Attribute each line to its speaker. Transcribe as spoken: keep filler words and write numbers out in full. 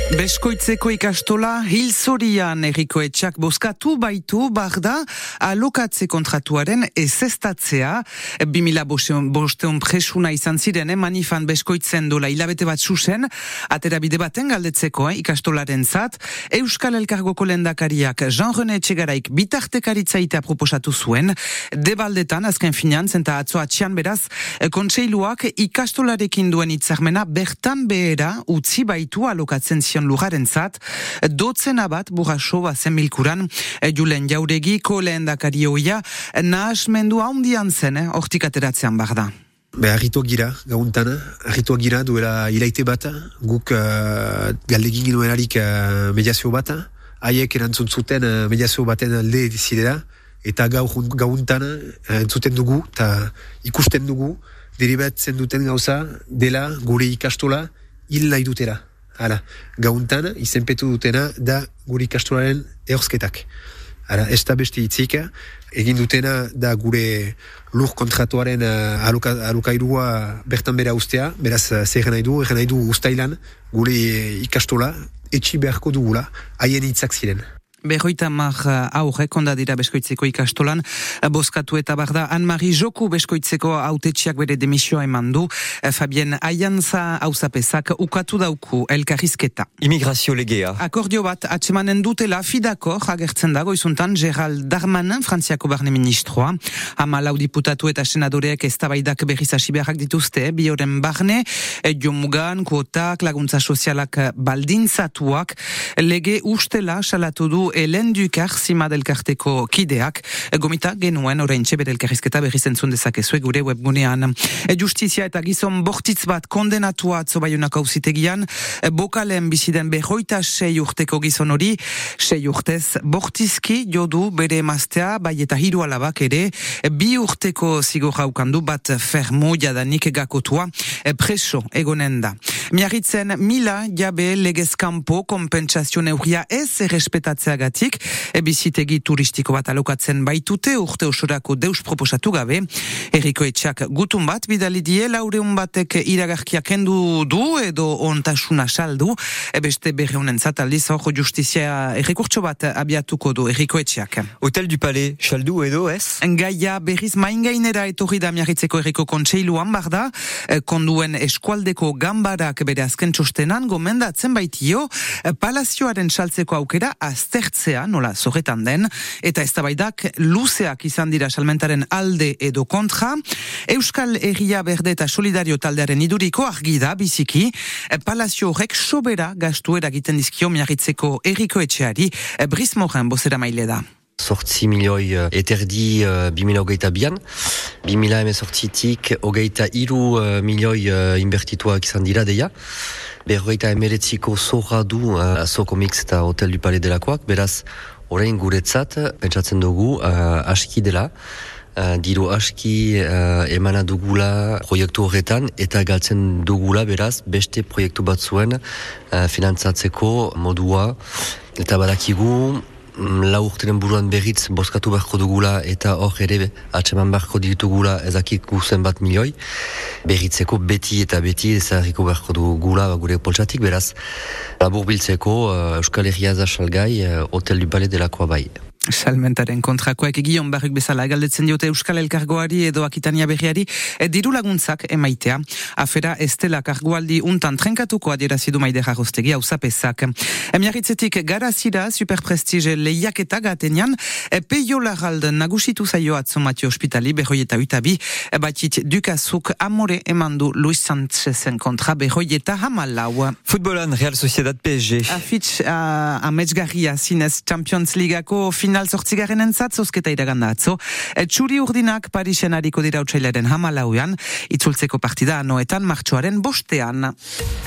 Speaker 1: Beskoitzeko ikastola Hilzorian herriko etxak bozkatu baitu barda alokatze kontratuaren ezeztatzea. bi mila bosteun presuna izan ziren, eh, manifan Beskoitzen dola hilabete bat zuzen, atera bide baten galdetzeko eh, ikastolaren zat. Euskal Elkargoko lehendakariak Jean-René Etxegaraik bitartekaritzaita proposatu zuen. Debaldetan, azken finan, zenta atzo atxian beraz, kontseiluak ikastolarekin duen hitzarmena bertan behera utzi baitu alokatzen zion lujaren zat, dotzena bat burraso bazen milkuran, Julen Jauregiko lehendakari hoia, nahasmendu handian zen, hortik ateratzean bar da.
Speaker 2: Be, harrituak gira, gauntan, harrituak gira duela hilaite bat, guk uh, galdegin ginuen harik uh, mediazio bat, haiek erantzun zuten uh, mediazio baten alde zidera, eta gaur gauntan uh, entzuten dugu, eta ikusten dugu, deribatzen duten gauza, dela gure ikastola hil nahi dutera. Hala, gauntan, izenpetu dutena da gure ikastolaren ehorzketak. Hala, ez da beste hitzik, egin dutena da gure lur kontratuaren uh, aloka, alokairua bertan bera ustea, beraz, uh, zer nahi du, egen nahi du ustailan, gure ikastola, etxi beharko dugula, haien hitzak ziren.
Speaker 1: Berroita mar aurre, konda dira Beskoitzeko ikastolan, bozkatu eta barda Anne-Marie Joku Beskoitzeko autetxiak bere demisioa eman du, Fabien Aianza hauzapezak ukatu dauku elkarrizketa.
Speaker 3: Immigrazio legea.
Speaker 1: Akordio bat atsemanen dutela fidakor agertzen dago izuntan Gerald Darmanin, Frantziako barne ministroa, hama lau diputatu eta senadoreak eztabaidak berriz hasi beharrak dituzte, bi horren barne, jomugan, kuotak, laguntza sozialak baldintzatuak, lege ustela salatu du Helen Dukar, Zima delkarteko kideak, gomita genuen oraintxe bere elkarrizketa berriz entzun dezakezue gure webgunean. Justizia eta gizon bortitz bat kondenatua atzo Baionako auzitegian, bokalen biziden berroita sei urteko gizon hori, sei urtez bortizki jodu bere emaztea, bai eta hiru alabak ere, bi urteko zigorra ukandu bat fermo jadanik gakotua, preso egonen da. Miarritzen mila jabe legezkampo kompensazio neurria ez errespetatzea gatik, bizitegi turistiko bat alokatzen baitute, urte osorako deus proposatu gabe, herriko etxak gutun bat, bidali die, laureun batek iragarkia kendu du, edo ontasuna saldu, beste berreunen zataldiz, hor justizia errekurtso bat abiatuko du herriko etxak.
Speaker 3: Hotel du Palais, saldu edo ez?
Speaker 1: Gaia berriz maingainera etorri da Miarritzeko herriko kontseiluan barda, konduen eskualdeko gambarak bere azken txostenan gomendatzen baitio, palazioaren saltzeko aukera aztertzea, nola zorretan den, eta eztabaidak luzeak izan dira salmentaren alde edo kontra. Euskal Herria Berde eta Solidario taldearen iduriko argi da biziki, palazio horrek sobera gastu eragiten dizkio Miarritzeko herriko etxeari, Brice Morin bozera maile da.
Speaker 4: Sortzi milioi eterdi uh, bimila hogeita bian. Bimila emezortzitik hogeita iru uh, milioi uh, inbertituak izan dira deia. Berrogeita emeretziko zorra du uh, Azoko Mix eta Hotel du Palais delakoak. Beraz, orain guretzat, pentsatzen dugu, uh, aski dela. Uh, diru aski uh, emana dugula proiektu horretan eta galtzen dugula beraz beste proiektu batzuen uh, finantzatzeko modua. Eta badakigu, lau urtenen buruan berriz bozkatu beharko dugula eta hor ere atseman beharko ditugula ezakik guzen bat milioi berritzeko beti eta beti ezarriko beharko dugula gure poltsatik, beraz labur biltzeko uh, Euskal Herria da salgai uh, Hotel du Palais delakoa bai.
Speaker 1: Salmentaren kontrakoak egion barruk bezala galdetzen diote Euskal Elkargoari edo Akitania Berriari diru laguntzak emaitea. Afera estela kargoaldi untan trenkatuko adierazidu Maider Arrostegi hauzapezak. Miarritzetik garazira superprestige lehiaketa gatenean Peio Larrald nagusitu zaio atzo Matio Hospitali berroi eta utabi batit dukazuk amore emandu Luis Sanchezen kontra berroi eta hamalau.
Speaker 3: Futbolan Real Sociedad P S G.
Speaker 1: Afitz uh, ametsgarria zinez Champions Leagueako final zortzigaren entzat, zozketa iraganda atzo. Txuri urdinak Parisen hariko dira utsailaren hamalauean, itzultzeko partida anoetan martxoaren bostean.